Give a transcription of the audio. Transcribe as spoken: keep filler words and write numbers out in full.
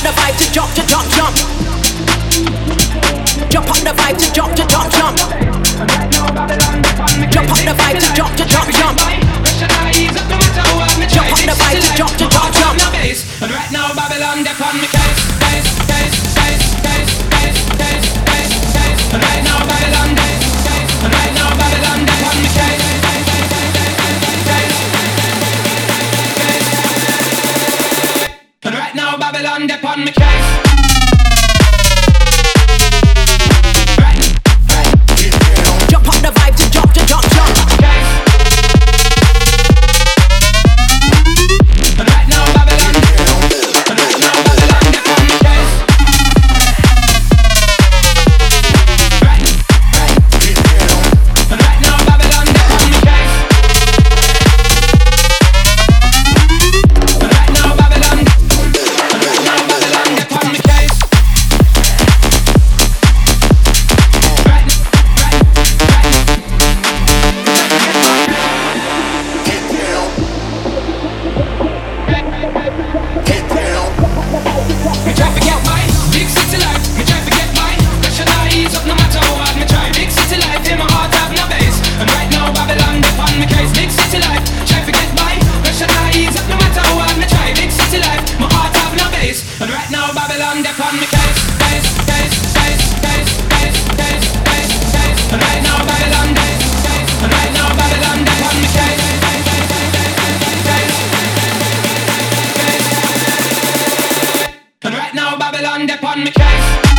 the vibe to jump, to jump, jump. Jump on the vibe to jump, to jump, jump. Jump on the vibe to jump, to jump, jump. Jump on the vibe to jump, to jump, jump. And right now Babylon, they're on me case, case, case, case, case, case, case, case, case. And right now Babylon, case, case. And right now Babylon, they're on me case, case, case, case. And right now Babylon, they're on me case. Jump on the vibe to jump, to jump, jump. And right now Babylon, and right now Babylon, they're on me case. Right, right. And right now Babylon, they're on me case. And right now Babylon, and right now Babylon, they're on me case. Right, right, right. Me try to get mine, big city life. Me try to get mine, rationalize up no matter how hard me try. Big city life, in my heart have no base. And right now Babylon, they on me case. Big city life, try to get mine, rationalize up no matter how hard me try. Big city life, my heart have no base. And right now Babylon, they on me case, case, case, case, case, case, case, case, case. And right now Babylon, case, case. And right now Babylon, they on me case, case, case, case, case. And right now Babylon, they on me case.